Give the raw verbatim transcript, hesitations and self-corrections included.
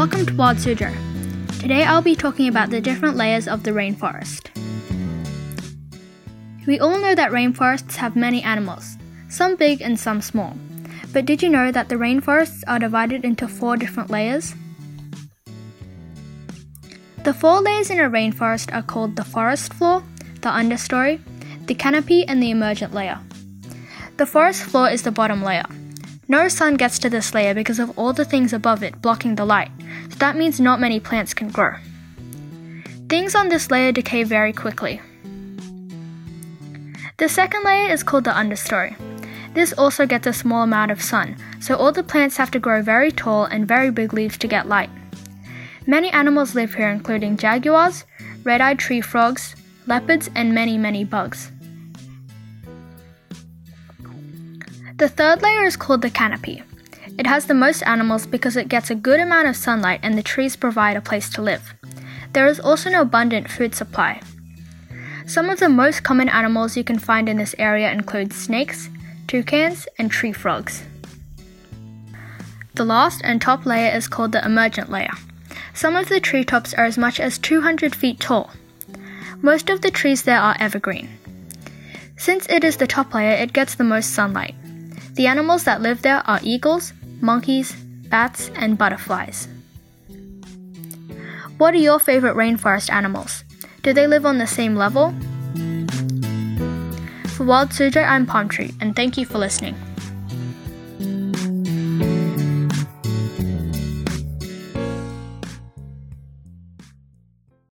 Welcome to Wild Suzhou. Today I'll be talking about the different layers of the rainforest. We all know that rainforests have many animals, some big and some small. But did you know that the rainforests are divided into four different layers? The four layers in a rainforest are called the forest floor, the understory, the canopy, and the emergent layer. The forest floor is the bottom layer. No sun gets to this layer because of all the things above it blocking the light, so that means not many plants can grow. Things on this layer decay very quickly. The second layer is called the understory. This also gets a small amount of sun, so all the plants have to grow very tall and very big leaves to get light. Many animals live here, including jaguars, red-eyed tree frogs, leopards, and many, many bugs. The third layer is called the canopy. It has the most animals because it gets a good amount of sunlight and the trees provide a place to live. There is also an abundant food supply. Some of the most common animals you can find in this area include snakes, toucans, and tree frogs. The last and top layer is called the emergent layer. Some of the treetops are as much as two hundred feet tall. Most of the trees there are evergreen. Since it is the top layer, it gets the most sunlight. The animals that live there are eagles, monkeys, bats, and butterflies. What are your favorite rainforest animals? Do they live on the same level? For Wild Suzhou, I'm Palm Tree, and thank you for listening.